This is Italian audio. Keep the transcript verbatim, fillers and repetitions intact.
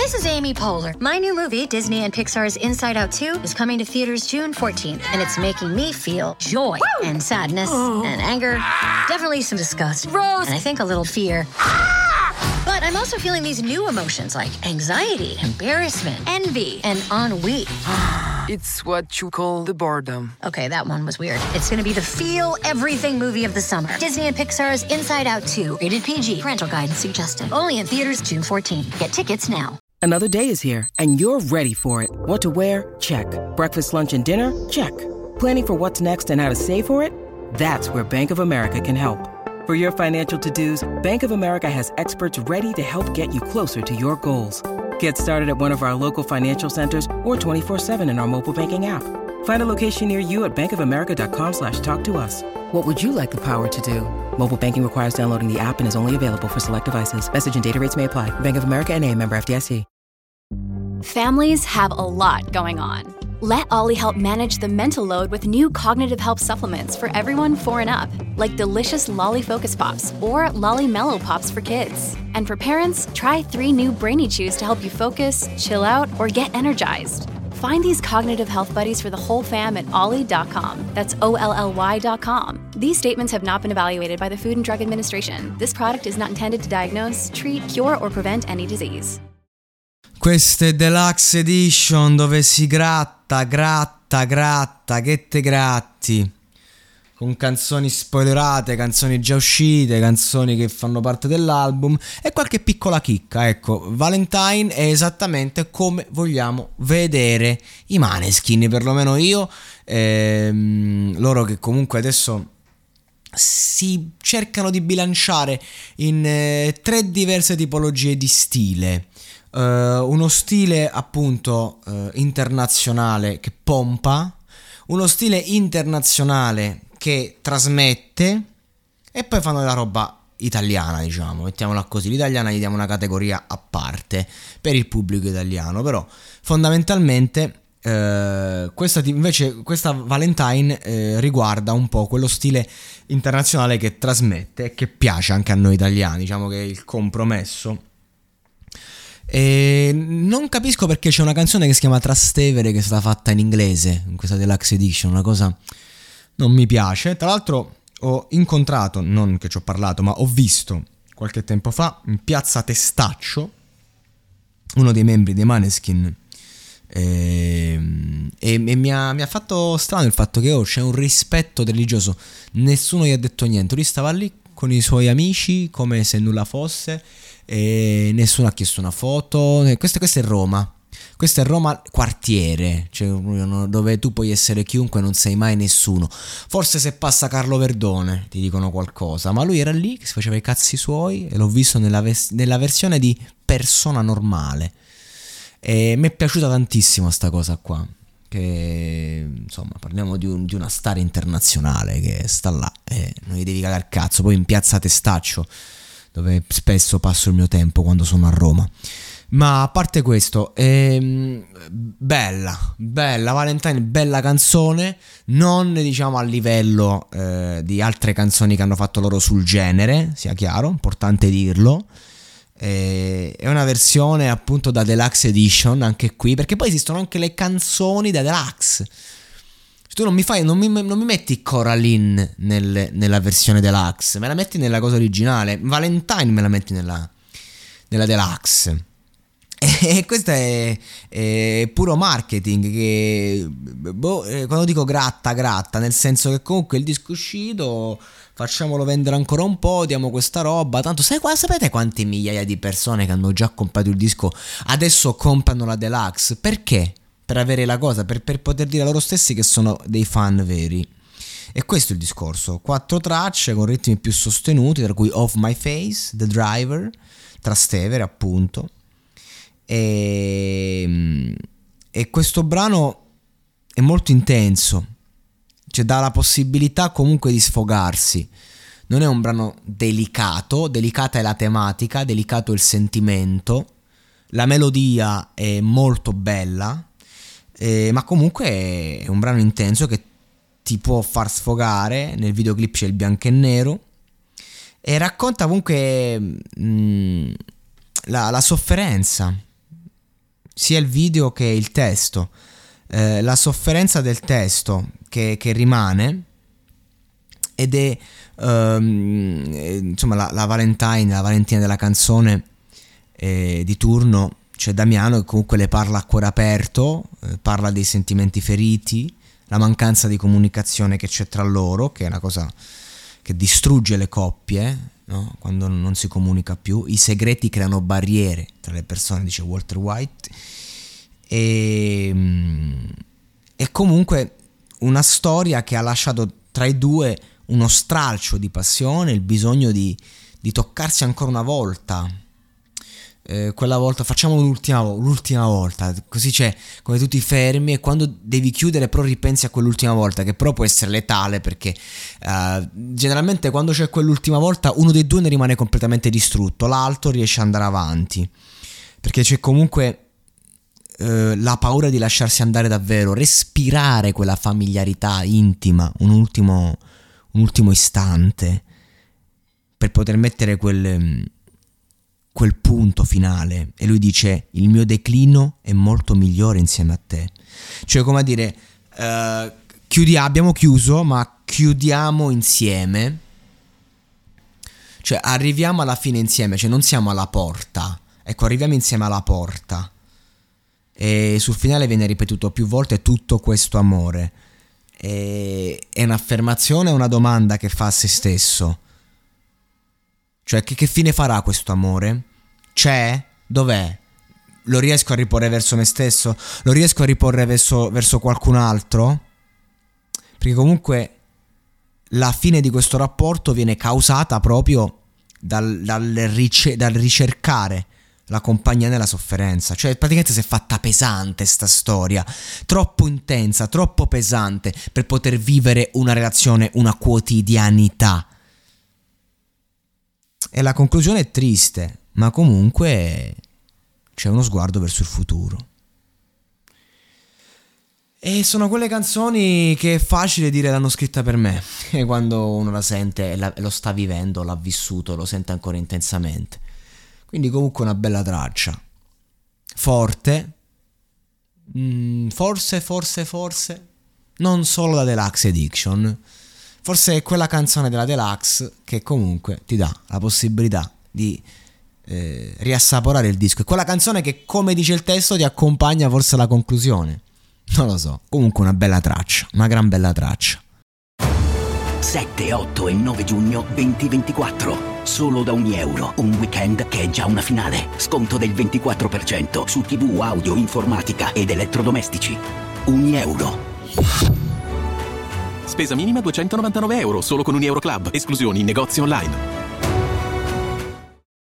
This is Amy Poehler. My new movie, Disney and Pixar's Inside Out two, is coming to theaters June fourteenth, and it's making me feel joy Woo! and sadness oh. and anger, definitely some disgust, Rose, and I think a little fear. But I'm also feeling these new emotions like anxiety, embarrassment, envy, and ennui. It's what you call the boredom. Okay, that one was weird. It's gonna be the feel everything movie of the summer. Disney and Pixar's Inside Out two. Rated P G. Parental guidance suggested. Only in theaters June fourteenth. Get tickets now. Another day is here, and you're ready for it. What to wear? Check. Breakfast, lunch, and dinner? Check. Planning for what's next and how to save for it? That's where Bank of America can help. For your financial to-dos, Bank of America has experts ready to help get you closer to your goals. Get started at one of our local financial centers or twenty-four seven in our mobile banking app. Find a location near you at bankofamerica.com slash talk to us. What would you like the power to do? Mobile banking requires downloading the app and is only available for select devices. Message and data rates may apply. Bank of America N A, member F D I C. Families have a lot going on. Let Ollie help manage the mental load with new cognitive help supplements for everyone four and up, like delicious Lolly Focus Pops or Lolly Mellow Pops for kids. And for parents, try three new Brainy Chews to help you focus, chill out, or get energized. Find these cognitive health buddies for the whole fam at ollie dot com. That's O L L Y dot com. These statements have not been evaluated by the Food and Drug Administration. This product is not intended to diagnose, treat, cure, or prevent any disease. Queste deluxe edition dove si gratta, gratta, gratta, che te gratti, con canzoni spoilerate, canzoni già uscite, canzoni che fanno parte dell'album e qualche piccola chicca. Ecco, Valentine è esattamente come vogliamo vedere i Maneskin, perlomeno io, ehm, loro che comunque adesso si cercano di bilanciare in eh, tre diverse tipologie di stile. Uh, uno stile appunto uh, internazionale che pompa, uno stile internazionale che trasmette e poi fanno della roba italiana, diciamo, mettiamola così. L'italiana gli diamo una categoria a parte per il pubblico italiano, però fondamentalmente uh, questa invece questa Valentine uh, riguarda un po' quello stile internazionale che trasmette e che piace anche a noi italiani, diciamo che è il compromesso. E non capisco perché c'è una canzone che si chiama Trastevere che è stata fatta in inglese in questa deluxe edition, una cosa non mi piace. Tra l'altro ho incontrato, non che ci ho parlato, ma ho visto qualche tempo fa in piazza Testaccio uno dei membri dei Maneskin e, e, e mi, ha, mi ha fatto strano il fatto che oh, c'è un rispetto religioso, nessuno gli ha detto niente, lui stava lì con i suoi amici come se nulla fosse e nessuno ha chiesto una foto. Questo, questo è Roma, questo è Roma quartiere, cioè dove tu puoi essere chiunque, non sei mai nessuno. Forse se passa Carlo Verdone ti dicono qualcosa, ma lui era lì che si faceva i cazzi suoi e l'ho visto nella, ves- nella versione di persona normale e mi è piaciuta tantissimo sta cosa qua, che insomma parliamo di, un, di una star internazionale che sta là e non gli devi cagare il cazzo. Poi in piazza Testaccio, dove spesso passo il mio tempo quando sono a Roma. Ma a parte questo, ehm, bella, bella Valentine, bella canzone, non diciamo a livello eh, di altre canzoni che hanno fatto loro sul genere, sia chiaro, importante dirlo. Eh, è una versione appunto da deluxe edition anche qui, perché poi esistono anche le canzoni da deluxe. Tu non mi fai, non mi, non mi metti Coraline nel, nella versione deluxe, me la metti nella cosa originale. Valentine me la metti nella, nella deluxe. E questo è, è puro marketing. Che boh, quando dico gratta, gratta, nel senso che comunque il disco è uscito, facciamolo vendere ancora un po', diamo questa roba. Tanto sai, sapete quante migliaia di persone che hanno già comprato il disco adesso comprano la deluxe? Perché? Per avere la cosa, per, per poter dire a loro stessi che sono dei fan veri. E questo è il discorso. Quattro tracce con ritmi più sostenuti, tra cui Off My Face, The Driver, Trastevere appunto. E, e questo brano è molto intenso, cioè dà la possibilità comunque di sfogarsi. Non è un brano delicato, delicata è la tematica, delicato è il sentimento, la melodia è molto bella. Eh, ma comunque è un brano intenso che ti può far sfogare. Nel videoclip c'è il bianco e nero e racconta comunque mh, la, la sofferenza sia il video che il testo. Eh, la sofferenza del testo che, che rimane, ed è um, insomma la, la Valentine, la Valentina della canzone eh, di turno. C'è Damiano che comunque le parla a cuore aperto, eh, parla dei sentimenti feriti, la mancanza di comunicazione che c'è tra loro, che è una cosa che distrugge le coppie, no? Quando non si comunica più. I segreti creano barriere tra le persone, dice Walter White. E, e comunque una storia che ha lasciato tra i due uno stralcio di passione, il bisogno di, di toccarsi ancora una volta. Eh, quella volta facciamo l'ultima, l'ultima volta, così c'è, come tu ti fermi e quando devi chiudere però ripensi a quell'ultima volta, che però può essere letale, perché uh, generalmente quando c'è quell'ultima volta uno dei due ne rimane completamente distrutto, l'altro riesce ad andare avanti, perché c'è comunque uh, la paura di lasciarsi andare davvero, respirare quella familiarità intima, un ultimo, un ultimo istante per poter mettere quel quel punto finale. E lui dice: il mio declino è molto migliore insieme a te. Cioè, come a dire, uh, chiudi- abbiamo chiuso, ma chiudiamo insieme. Cioè arriviamo alla fine insieme, cioè non siamo alla porta, ecco, arriviamo insieme alla porta. E sul finale viene ripetuto più volte tutto questo amore. E è un'affermazione, una domanda che fa a se stesso. Cioè, che, che fine farà questo amore? C'è? Dov'è? Lo riesco a riporre verso me stesso? Lo riesco a riporre verso, verso qualcun altro? Perché comunque la fine di questo rapporto viene causata proprio dal, dal, rice- dal ricercare la compagnia nella sofferenza. Cioè praticamente si è fatta pesante sta storia, troppo intensa, troppo pesante per poter vivere una relazione, una quotidianità. E la conclusione è triste, ma comunque c'è uno sguardo verso il futuro. E sono quelle canzoni che è facile dire l'hanno scritta per me, e quando uno la sente e la, lo sta vivendo, l'ha vissuto, lo sente ancora intensamente. Quindi comunque una bella traccia, forte, mm, forse, forse, forse, non solo da Deluxe Edition. Forse è quella canzone della Deluxe che comunque ti dà la possibilità di eh, riassaporare il disco. È quella canzone che, come dice il testo, ti accompagna forse alla conclusione. Non lo so. Comunque una bella traccia, una gran bella traccia. sette, otto e nove giugno duemilaventiquattro. Solo da ogni euro. Un weekend che è già una finale. Sconto del ventiquattro per cento su tivù, audio, informatica ed elettrodomestici. Ogni euro. Spesa minima duecentonovantanove euro, solo con un Euro Club. Esclusioni in negozi online.